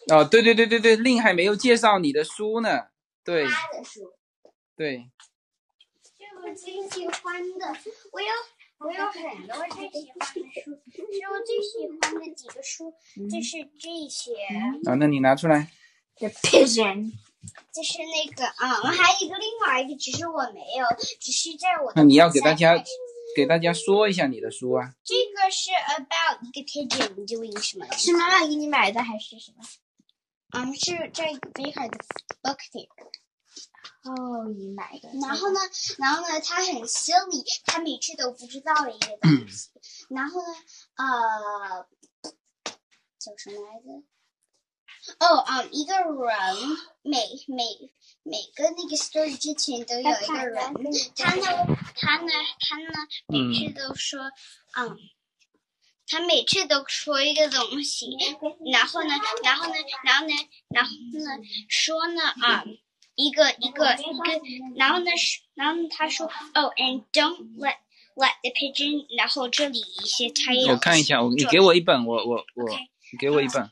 哦，对对对对对，令还没有介绍你的书呢。对， 他的书。 对。 这我最喜欢的，我有很多最喜欢的书，是我最喜欢的几个书，就是这些。 那你拿出来。 The Pigeon。就是那个还有另外一个，只是我没有，只是在我的。 那你要给大家说一下你的书啊。 这个是 about 一个 pigeon doing 什么？是妈妈给你买的还是什么？是这个 Baker 的 book fair。哦，你买的。然后呢，他很 silly， 他每次都不知道的一个东西。然后呢，叫什么来着？一个人每个那个 story 之前都有一个人，他呢，每次都说，他每次都说一个东西，然后呢，说呢，一个，然后呢，他说 and don't let the pigeon， 然后这里一些 titles。 我看一下，你给我一本，你给我一本。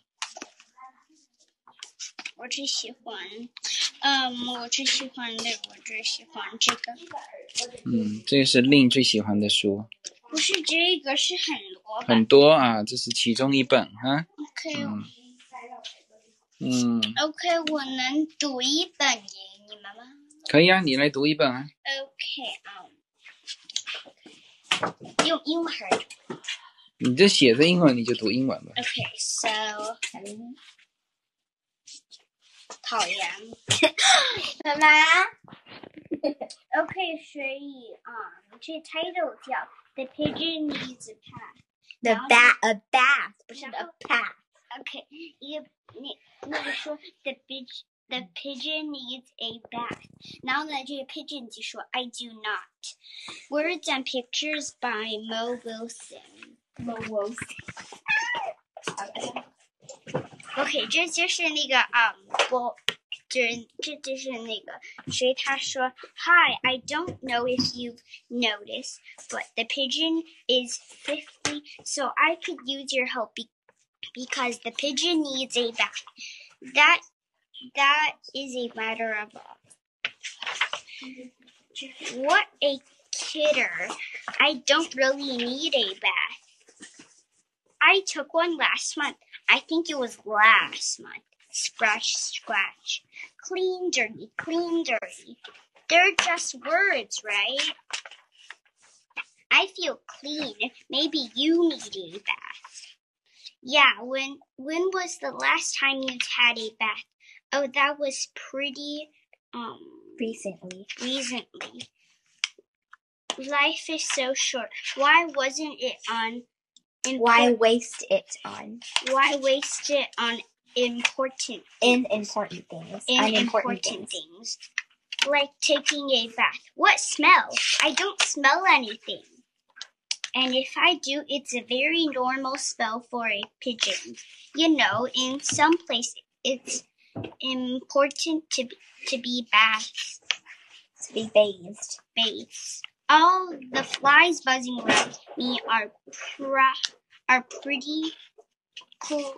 我最喜欢这个。 这个是令最喜欢的书。 不是这个，是很多啊，这是其中一本哈。 OK， 我能读一本给你们吗？ 可以啊，你来读一本啊。 OK， 用英文还是？ 你这写着英文，你就读英文吧。 OK，so 讨厌，干嘛？OK， 所以这 title 叫 The Pigeon Needs a Bath。不是 a bath。OK， 那个说 The pigeon needs a bath。然后呢，这个 pigeon 就说 I do not。Words and pictures by Mo Wilson。OK， 这就是那个这就是那个谁他说 Hi, I don't know if you've noticed, but the pigeon is 50, so I could use your help because the pigeon needs a bath. That is a matter of what a kidder. I don't really need a bath. I took one last month. I think it was last month. Scratch, scratch. Clean, dirty, clean, dirty. They're just words, right? I feel clean. Maybe you need a bath. Yeah, when was the last time you had a bath? Oh, that was pretty, recently. Life is so short. Why wasn't it on? Why waste it on unimportant things? Like taking a bath. What smell? I don't smell anything. And if I do, it's a very normal smell for a pigeon. You know, in some places, it's important to be bathed. To be bathed. All the flies buzzing around me are pretty cool.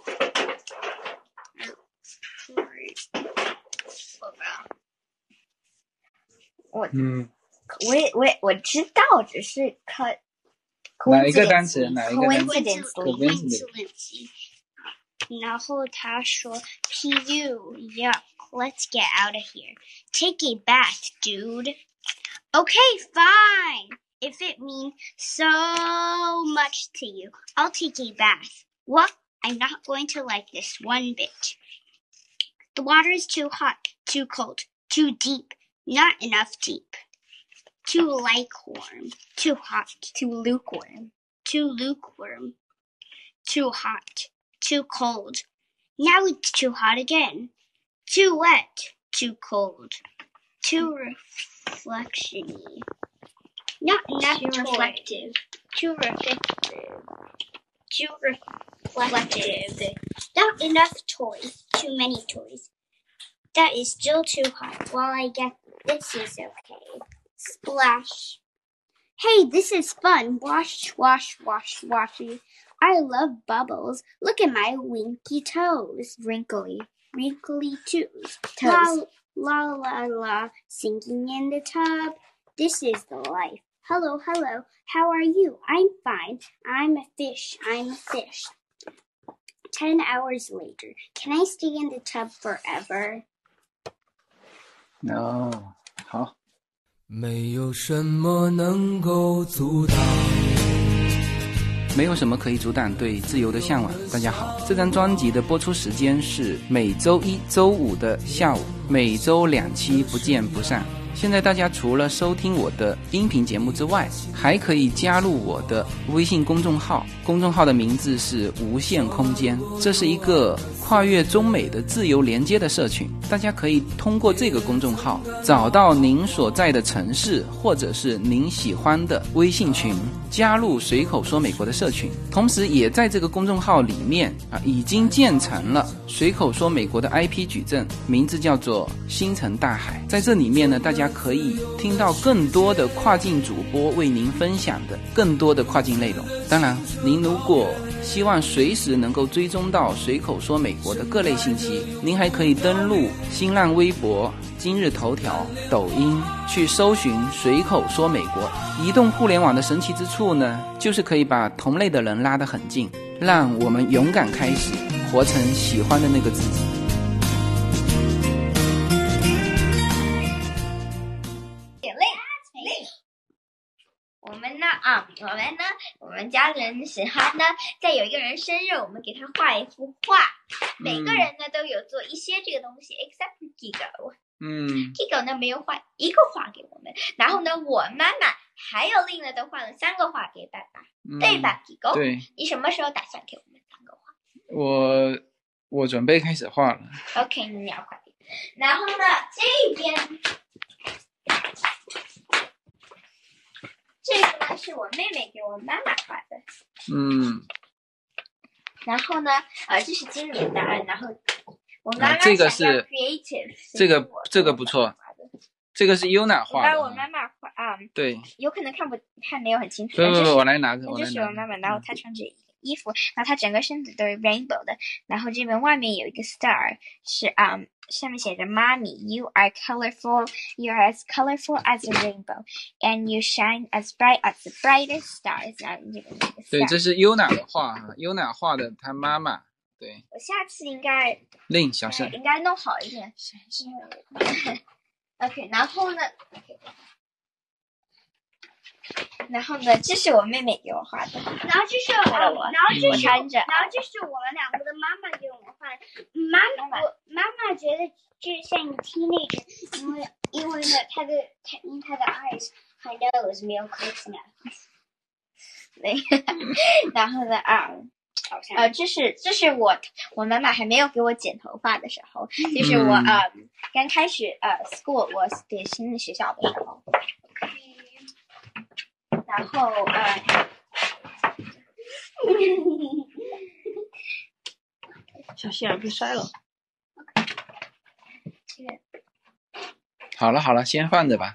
我知道，只是哪一个单词 ？Coincidentally. 然后他说 P.U. Yuck, let's get out of here. Take a bath, dude. Okay, fine. If it means so much to you, I'll take a bath. What? I'm not going to like this one bit. The water is too hot, too cold, too deep, not enough deep. Too lukewarm, too hot, too lukewarm, too hot, too cold. Now it's too hot again. Too wet, too cold, too reflection-y. Not enough too reflective. Not enough toys. Too many toys. That is still too hot. Well, I guess this is okay. Splash. Hey, this is fun. Wash, wash, wash, washy. I love bubbles. Look at my winky toes. Wrinkly toes. La la la, sinking in the tub. This is the life. Hello, how are you? I'm fine. I'm a fish. 10 hours later. Can I stay in the tub forever? No. 好。 没有什么能够阻挡， 没有什么可以阻挡对自由的向往。大家好，这张专辑的播出时间是每周一、周五的下午，每周2期，不见不散。现在大家除了收听我的音频节目之外，还可以加入我的微信公众号，公众号的名字是无限空间，这是一个跨越中美的自由连接的社群，大家可以通过这个公众号找到您所在的城市或者是您喜欢的微信群，加入随口说美国的社群。同时也在这个公众号里面已经建成了随口说美国的 IP 矩阵，名字叫做星辰大海。在这里面呢，大家可以听到更多的跨境主播为您分享的更多的跨境内容。当然您如果希望随时能够追踪到随口说美国的各类信息，您还可以登录新浪微博、今日头条、抖音去搜寻随口说美国。移动互联网的神奇之处呢，就是可以把同类的人拉得很近，让我们勇敢开始，活成喜欢的那个自己。 我们家人喜欢呢，在有一个人生日，我们给他画一幅画。每个人呢都有做一些这个东西 ，except for Gigo。Gigo 呢没有画一个画给我们，然后呢，我妈妈还有另外的画了3个画给爸爸，对吧 ？Gigo， 对，你什么时候打算给我们3个画？ 我准备开始画了。 OK， 你要画。然后呢，这边。这个呢是我妹妹给我妈妈画的，然后呢，这是今年的，然后我妈妈这个是 creative， 这个不错，这个是 Yuna 画的。 我妈妈画对， 有可能看没有很清楚。 不，我来拿着。 这是我妈妈，然后她穿着衣服，然后她整个身子都是 rainbow 的，然后这边外面有一个 star， 是上面写着 Mommy, you are colorful, you are as colorful as a rainbow, and you shine as bright as the brightest stars. 对，这是 Yuna 的画，Yuna 画的她妈妈。对， 我下次应该令小声， 应该弄好一点。OK， 然后呢，这是我妹妹给我画的，然后这是我穿着，然后这是我们2个的妈妈给我们画的。妈妈觉得这像一个 teenager， 因为呢，她的 eyes 和 nose 没有 close enough。然后呢这是我妈妈还没有给我剪头发的时候，就是我刚开始school 我给新的学校的时候。然后小心别摔了。 好了，先放着吧。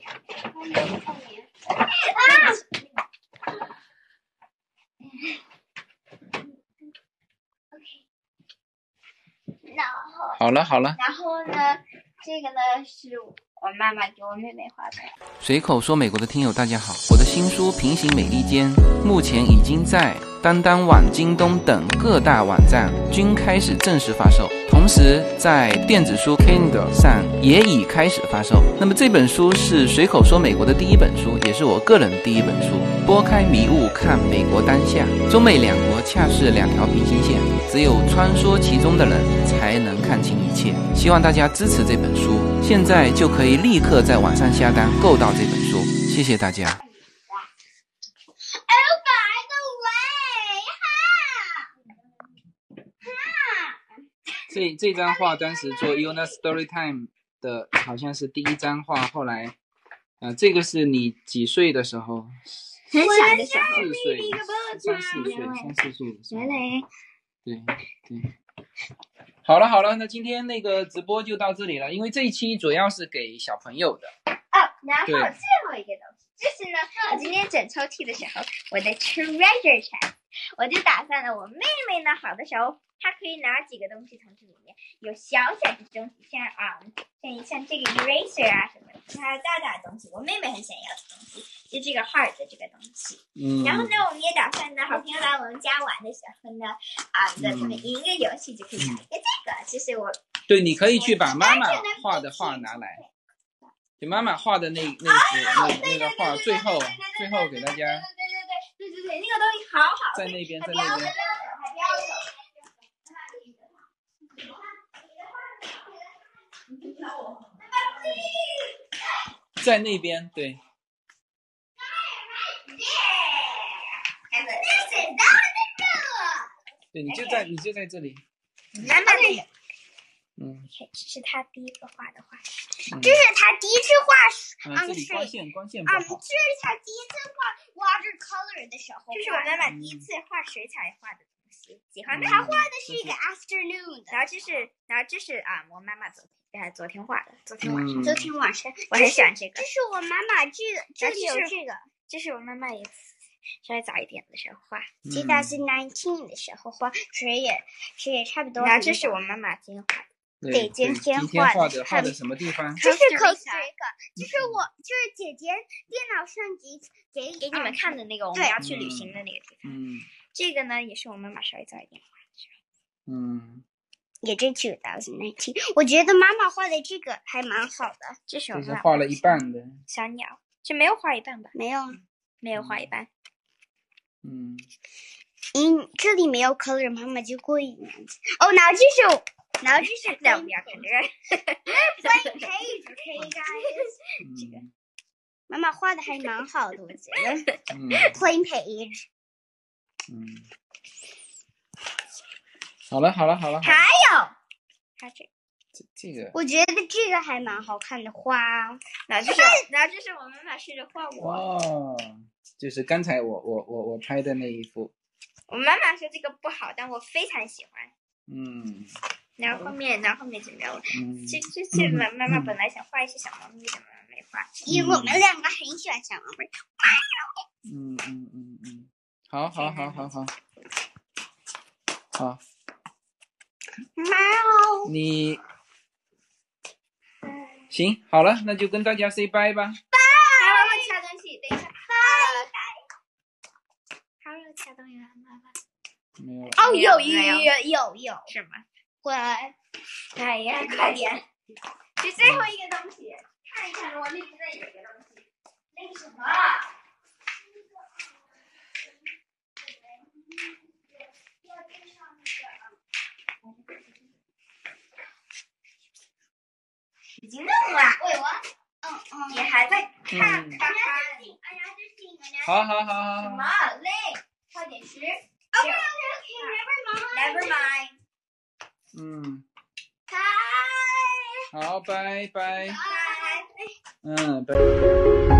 好了。 然后呢，这个呢是我妈妈给我妹妹画的。 随口说美国的听友大家好，我的新书《平行美利坚》目前已经在当当网、京东等各大网站均开始正式发售，同时在电子书 Kindle 上也已开始发售。那么这本书是随口说美国的第一本书，也是我个人的第一本书。拨开迷雾看美国当下，中美两国恰是2条平行线，只有穿梭其中的人才能看清一切。希望大家支持这本书，现在就可以立刻在网上下单购到这本书，谢谢大家。这张画当时做 Yuna Storytime 的好像是第1张画，后来这个是你几岁的时候？ 很小的时候 ，3、4岁的时候。对。好了，那今天那个直播就到这里了，因为这一期主要是给小朋友的。 然后最后一个东西，就是呢，我今天整抽屉的时候，我的 treasure chest 我就打算了，我妹妹呢，好的时候她可以拿几个东西从这里面，有小小的东西，像这个 eraser 啊什么的，还有大大的东西，我妹妹很想要的东西，就这个 heart 的这个东西。然后呢，我们也打算呢，好朋友来我们家玩的时候呢，他们赢一个游戏就可以拿一个这个，就是我。 对，你可以去把妈妈画的画拿来，就妈妈画的那个画，最后给大家。 对，那个东西好好。 在那边，在那边。在那边，对。对，你就在这里。 妈妈的。这是他第一个画的画，这是他第一次画这里光线不好。 这是他第一次画 watercolor 的时候，这是我妈妈第一次画水彩画的东西，喜欢他画的是一个 afternoon 的，然后这是我妈妈昨天画的，昨天晚上，我很喜欢这个。这是我妈妈这里有这个，这是我妈妈也稍微早一点的时候画，2019的时候画，水也差不多。然后这是我妈妈今天画的。 对，今天画的什么地方？ 这是 Costa Rica， 就是姐姐电脑上给你们看的那个我们要去旅行的那个地方。这个呢也是我妈妈稍微早一点画的。也是2019，我觉得妈妈画的这个还蛮好的。这是我妈妈画了一半的小鸟，这没有画一半吧？没有画一半。这里没有 color， 妈妈就故意那样子。然后这是在我们要看这个 plain page，OK guys。这个妈妈画的还蛮好的，我觉得。plain page。 好了。 还有这个， 我觉得这个还蛮好看的花。然后这是我妈妈试着画我。 哦，就是刚才我拍的那一幅。 我妈妈说这个不好，但我非常喜欢。然后后面就没有了。这妈妈本来想画一些小猫咪的，妈妈没画，因为我们两个很喜欢小猫咪。 好。 猫。你行，好了，那就跟大家 say bye 吧。 拜。掐东西，等一下。拜。还有掐东西吗？ 没有。 哦，有。是吗？哎呀，快点！这最后一个东西，看一看，我那边有一个东西，那个什么？已经弄了。也还在看。 好。 什么累？快点吃。Never mind。 好，拜拜。 拜。 拜。